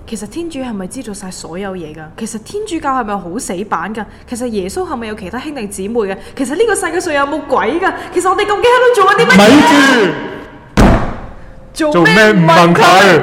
其實天主係咪知道晒所有嘢㗎？其實天主教係咪好死板㗎？其實耶穌係咪有其他兄弟姊妹嘅？其實呢個世界上有冇鬼㗎？其實我哋究竟喺度做緊啲乜嘢？ 咪住，做咩唔問佢？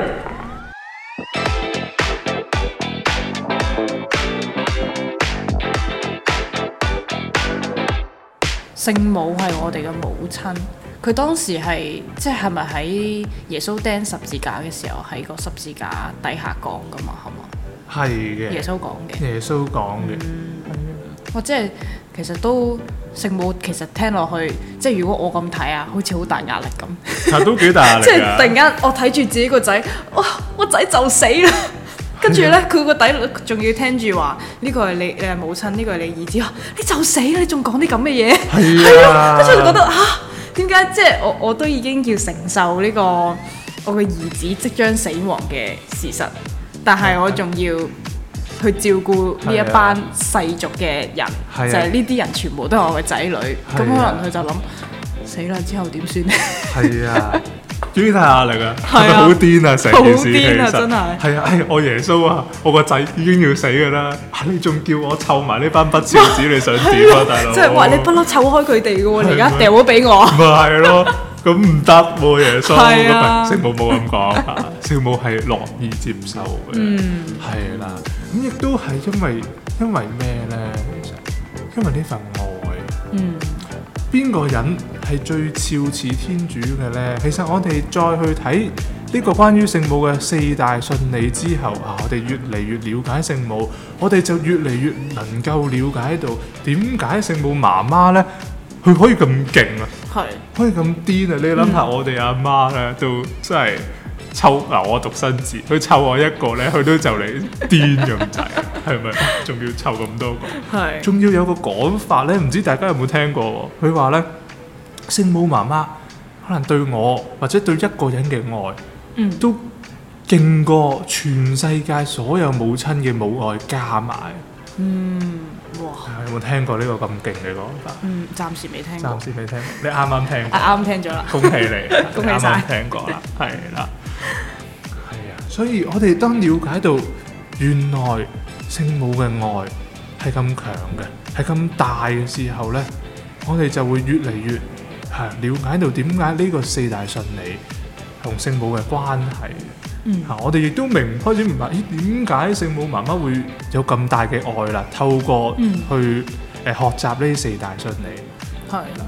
聖母係我哋嘅母親，佢當時係係咪喺耶穌釘十字架嘅時候喺個十字架底下講噶嘛？係嘛？ 係嘅。耶穌講嘅。耶穌講嘅。 或者係其實都聖母其實聽落去，如果我咁睇啊，好似好大壓力咁。 係都幾大壓力㗎。 突然間我睇住自己個仔，我仔就死啦！跟住咧，佢個底仲要聽住話呢個係你係母親，呢個係你兒子，你就死啦！你仲講啲咁嘅嘢，係啊！跟住就覺得點解我都已經要承受呢個我嘅兒子即將死亡嘅事實，但係我仲要去照顧呢一班世俗嘅人，就係呢啲人全部都係我嘅仔女，咁可能佢就諗死啦，之後點算咧？係啊！幾大壓力啊！係咪好癲啊？成件事其實真係係啊！我耶穌啊，我個仔已經要死㗎啦！你仲叫我湊埋呢班不孝子，你想點啊，大佬？即係話你不嬲湊開佢哋嘅喎，你而家掉咗俾我。咪係咯，咁唔得喎，耶穌。聖母冇咁講，聖母係樂意接受嘅。係啦，咁亦都係因為咩咧？其實因為呢份愛。邊個人係最肖似天主嘅呢？其實我哋再去睇呢個關於聖母嘅4大信理之後我哋越嚟越了解聖母，我哋就越嚟越能夠了解到點解聖母媽媽呢，佢可以咁勁啊，可以咁癲啊！你諗下我哋阿媽呢，都真係湊我獨生子，佢湊我一個呢，佢都就嚟癲咁滯，係咪？仲要湊咁多個，仲要有個講法呢，唔知大家有冇聽過？佢話呢，聖母媽媽可能對我或者對一個人嘅愛，都勁過全世界所有母親嘅母愛加埋。哇！有冇聽過呢個咁勁嘅講法？暫時未聽過。暫時未聽過，你啱啱聽過？啱聽咗啦！恭喜你，恭喜晒！啱啱聽過啦，係啦，係啊！所以我哋當了解到原來聖母嘅愛係咁強嘅，係咁大嘅時候咧，我哋就會越嚟越了解到點解呢個4大信理同聖母嘅關係。我哋亦都開始明白，點解聖母媽媽會有咁大嘅愛啦？透過去學習呢4大信理，係啦，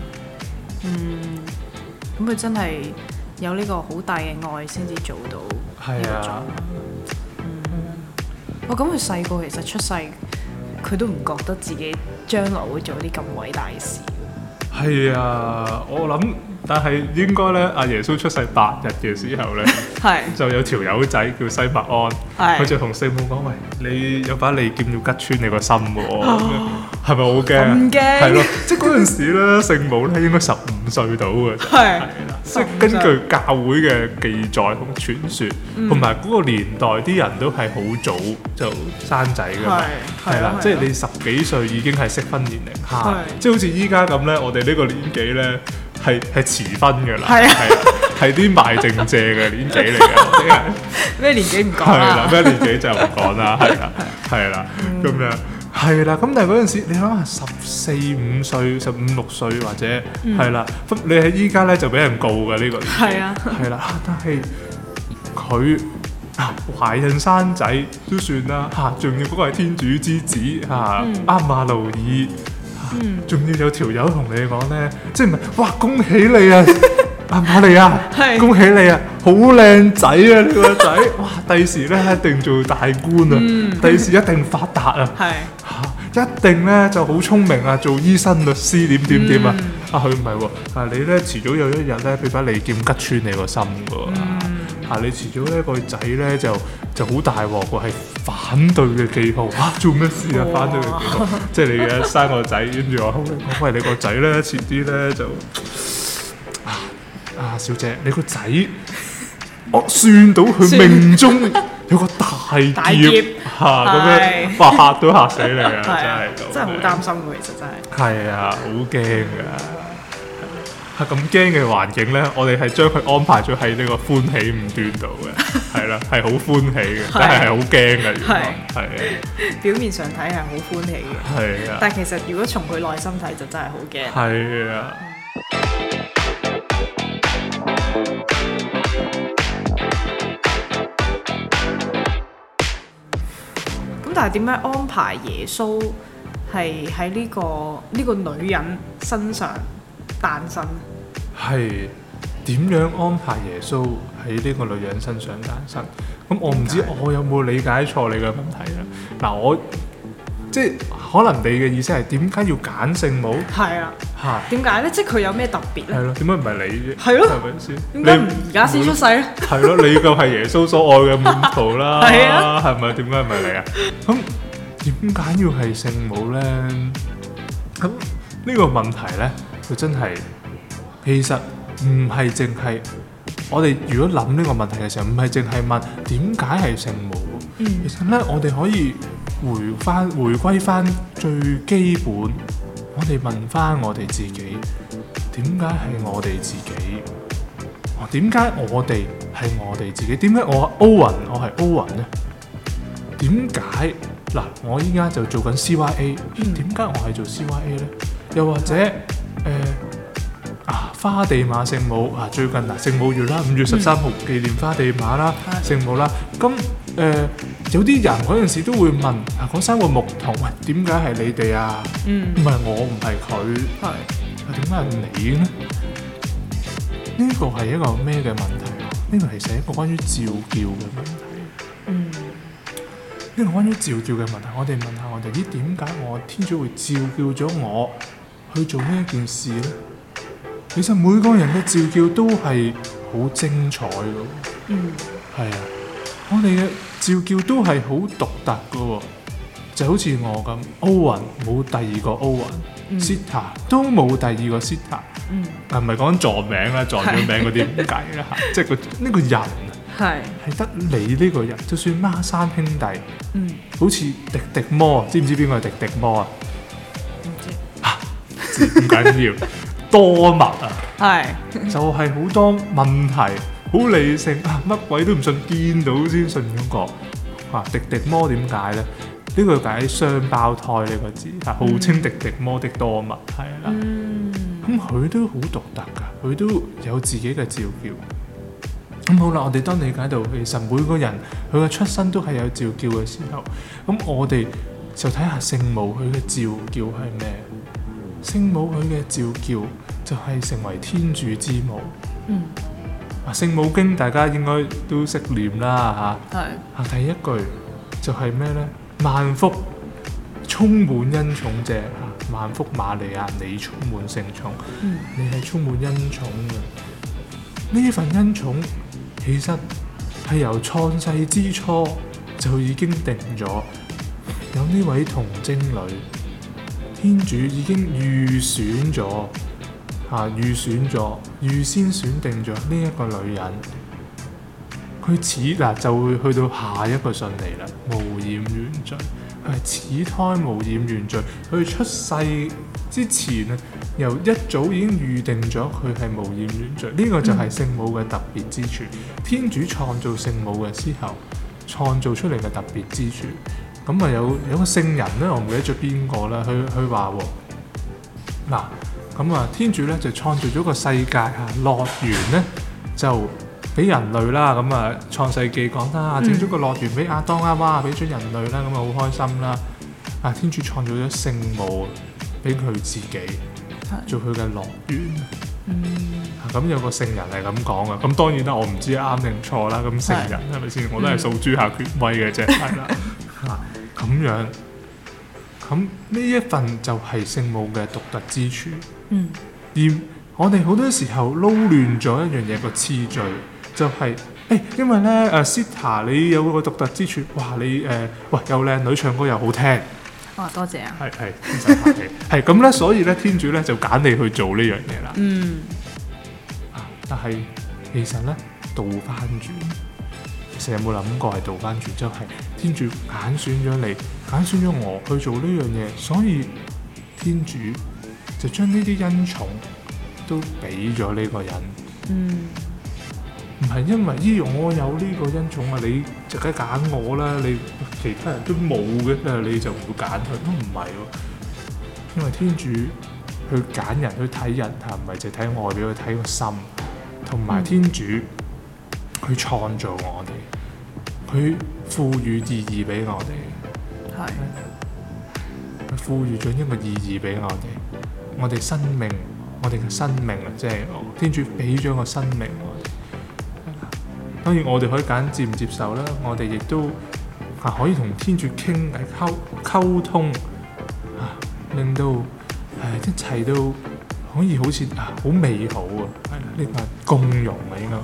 咁佢真係有呢個好大嘅愛先至做到呢個狀況。咁佢細個其實出世，佢都唔覺得自己將來會做啲咁偉大嘅事。係啊，我諗。但係應該咧，阿耶穌出世8日嘅時候咧，就有條友仔叫西默安，佢就同聖母講：喂，你有把利劍要吉穿你個心喎，係咪好驚？唔驚，係咯，即係嗰陣時咧，聖母咧應該15歲到嘅，係啦，即係根據教會嘅記載同傳說，同埋嗰個年代啲人都係好早就生仔㗎嘛，係啦，即係你10幾歲已經係適婚年齡，即係好似依家咁咧，我哋呢個年紀咧。係遲婚㗎啦，係啲賣剩蔗嘅年紀嚟嘅，咩年紀唔講啦，係啦，咩年紀就唔講啦，係啦，咁樣係啦，咁但係嗰陣時你諗下14、15歲、15、16歲或者係啦，你喺依家咧就俾人告㗎呢個年紀，係啦，但係佢懷孕生仔都算啦，仲要嗰個係天主之子阿馬路爾。仲要有條友同你講咧，即係唔係？哇！恭喜你啊，阿瑪利亞，恭喜你啊，好靚仔啊！你個仔，哇！第時咧一定做大官啊，第時一定發達啊，一定咧就好聰明啊，做醫生、律師點啊！佢唔係喎，你咧遲早有一日咧俾把利劍吉穿你個心㗎，你遲早咧個仔咧就好大鑊喎，係反對嘅記號做咩事啊？反對嘅記號，即係你嘅生個仔，跟住話喂，你個仔咧遲啲咧就小姐，你個仔我算到佢命中有個大劫咁樣，嚇都嚇死你啊！真係好擔心㗎，其實真係係啊，好驚㗎。 係咁驚嘅環境咧，我哋係將佢安排咗喺呢個歡喜五端度嘅，係啦，係好歡喜嘅，但係好驚嘅，係啊。 表面上睇係好歡喜嘅，係啊。但係其實如果從佢內心睇，就真係好驚。 係啊。 咁但係點樣安排耶穌係喺呢個女人身上誕生？ 係點樣安排耶穌喺呢個女人身上誕生？咁我唔知我有冇理解錯你嘅問題啦。嗱，我即係可能你嘅意思係點解要揀聖母？係啊，嚇點解咧？即係佢有咩特別咧？ 係咯，點解唔係你啫？ 係咯， 係咪先？ 點解唔而家先出世咧？ 係咯，你就係耶穌所愛嘅門徒啦。係啊，係咪？點解唔係你啊？咁點解要係聖母咧？咁呢個問題咧，佢真係其實唔係淨係我哋如果諗呢個問題嘅時候，唔係淨係問點解係聖母。其實咧，我哋可以回歸翻最基本，我哋問翻我哋自己，點解係我哋自己？點解我哋係我哋自己？點解我係歐雲咧？點解嗱？我依家就做緊 CYA， 點解我係做 CYA 咧？又或者花地瑪聖母最近聖母月啦，5月13號紀念花地瑪啦，聖母啦。咁有啲人嗰陣時都會問嗰3個牧童，喂，點解係你哋啊？唔係我，唔係佢，點解係你咧？呢個係一個咩嘅問題？呢個其實係一個關於召叫嘅問題。呢個關於召叫嘅問題，我哋問下我哋，點解我天主會召叫咗我去做呢一件事咧？其實每個人嘅召叫都係好精彩嘅，係啊，我哋嘅召叫都係好獨特嘅，就好似我咁，歐雲冇第二個歐雲，Sita 都冇第二個 Sita，唔係講撞名啦，撞咗名嗰啲唔計啦嚇，即係呢個人係得你呢個人，就算孖生兄弟，好似迪迪摩，知唔知邊個係迪迪摩啊？唔知，唔緊要。多物就係好多問題，好理性乜鬼都唔信，見到先信嗰個。迪迪摩點解咧？呢個解雙胞胎呢個字，號稱迪迪摩的多物，係啦。咁佢都好獨特㗎，佢都有自己嘅召叫。咁好啦，我哋當理解到其實每個人佢嘅出生都係有召叫嘅時候，咁我哋就睇下聖母佢嘅召叫係咩？聖母佢嘅召叫就係成為天主之母。聖母經大家應該都識念啦嚇。第一句就係咩呢？萬福充滿恩寵者，萬福瑪利亞，你充滿聖寵。你係充滿恩寵嘅。呢份恩寵其實係由創世之初就已經定咗，有呢位童貞女。天主已經預先選定咗呢一個女人，佢就會去到下一個順利啦，無染原罪。佢係始胎無染原罪，佢出世之前由一早已經預定咗佢係無染原罪。呢個就係聖母嘅特別之處。天主創造聖母嘅時候，創造出嚟嘅特別之處。咁有個聖人咧，我唔記得咗邊個啦。佢話咁天主咧就創造咗個世界樂園咧就俾人類啦。創世記講啦，整咗個樂園俾亞當啊，哇，俾咗人類啦，咁好開心啦。天主創造咗聖母俾佢自己做佢嘅樂園。咁有個聖人係咁講嘅，咁當然啦，我唔知啱定錯啦。咁聖人係咪先？我都係訴諸下權威嘅啫，係啦。咁樣，咁呢一份就係聖母嘅獨特之處。而我哋好多時候撈亂咗一樣嘢個次序，就係因為咧Sita 你有個獨特之處，哇你又靚女，唱歌又好聽。 多謝啊。 係唔使客氣。係咁咧，所以咧天主咧就揀你去做呢樣嘢啦。但係其實咧倒翻轉。其實有冇諗過係倒翻轉？就係天主揀選咗你，揀選咗我去做呢樣嘢，所以天主就將呢啲恩寵都俾咗呢個人。唔係因為我有呢個恩寵啊，你就梗係揀我啦，你其他人都冇嘅，你就唔會揀佢，都唔係喎。因為天主去揀人去睇人嚇，唔係淨係睇外表，去睇個心，同埋天主去創造我哋，佢賦予意義俾我哋，佢賦予咗一個意義俾我哋生命，我哋嘅生命啊，即係天主俾咗個生命我哋。當然我哋可以揀接唔接受啦，我哋亦都可以同天主傾偈溝通令到一切都可以好似好美好啊！呢個係共融啊，應該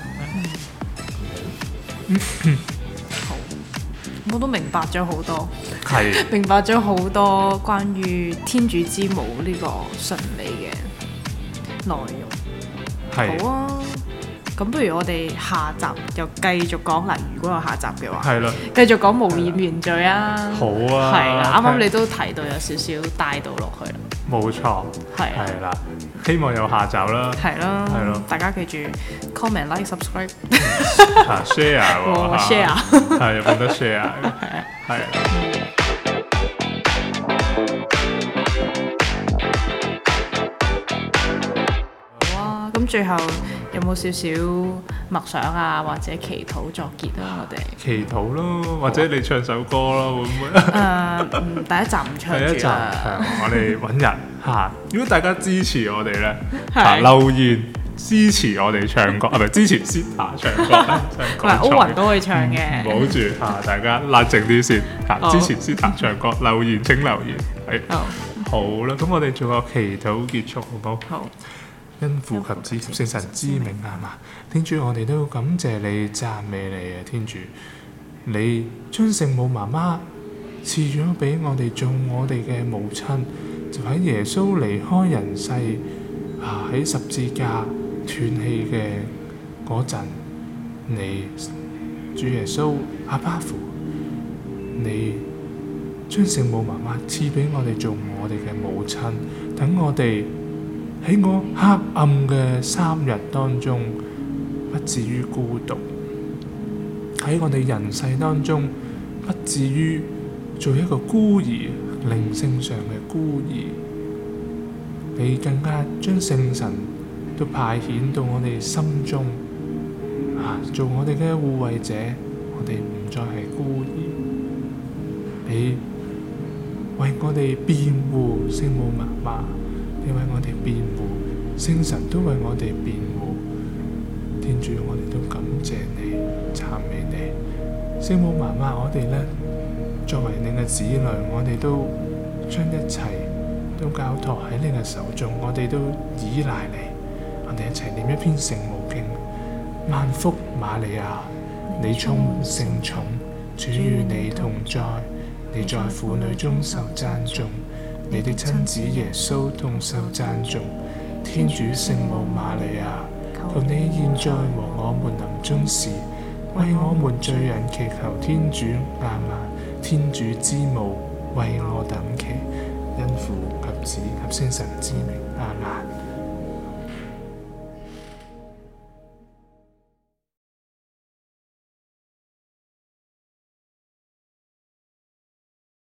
咁講。 好，我都明白咗好多， 係明白咗好多關於天主之母呢個順理嘅內容。 係好啊。咁不如我哋下集又繼續講啦。如果有下集嘅話， 係啦， 繼續講無染原罪啊。 好啊， 係啦，啱啱你都提到有少少帶到落去啦。 冇錯，係啦，希望有下集啦。係咯， 大家記住 comment、like、subscribe、 share 喎 ，share 係有冇得 share？係。 咁最後有冇少少默想啊，或者祈禱作結啊？我哋祈禱咯，或者你唱首歌咯，會唔會？ 第一集唔唱住啦。第一集我哋揾人嚇。如果大家支持我哋咧，留言支持我哋唱歌，唔係支持 Zita 唱歌。 唔係歐雲都可以唱嘅。唔好住嚇，大家冷靜啲先嚇，支持 Zita 唱歌，留言請留言。係。好啦，咁我哋做個祈禱結束，好唔好？好。因父及子及聖神之名啊嘛，天主，我哋都感謝你、讚美你啊！天主，你將聖母媽媽賜咗俾我哋做我哋嘅母親，就喺耶穌離開人世喺十字架斷氣嘅嗰陣，你主耶穌阿爸父，你將聖母媽媽賜俾我哋做我哋嘅母親，等我哋喺我黑暗嘅3日當中，不至於孤獨；喺我哋人世當中，不至於做一個孤兒，靈性上嘅孤兒。你更加將聖神都派遣到我哋心中，做我哋嘅護衛者，我哋唔再係孤兒。你為我哋辯護聖母媽媽。你為我哋辯護，聖神都為我哋辯護。天主，我哋都感謝你，讚美你。聖母媽媽，我哋呢，作為你嘅子女，我哋都將一切都交託喺你嘅手中，我哋都依賴你。我哋一齊念一篇聖母經。萬福瑪利亞，你充滿聖寵，主與你同在，你在婦女中受讚頌。你的親子耶穌同受讚頌，天主聖母瑪利亞，求你現在和我們臨終時，為我們罪人祈求天主。亞們，天主之母，為我等祈，因父及子及聖神之名。亞們。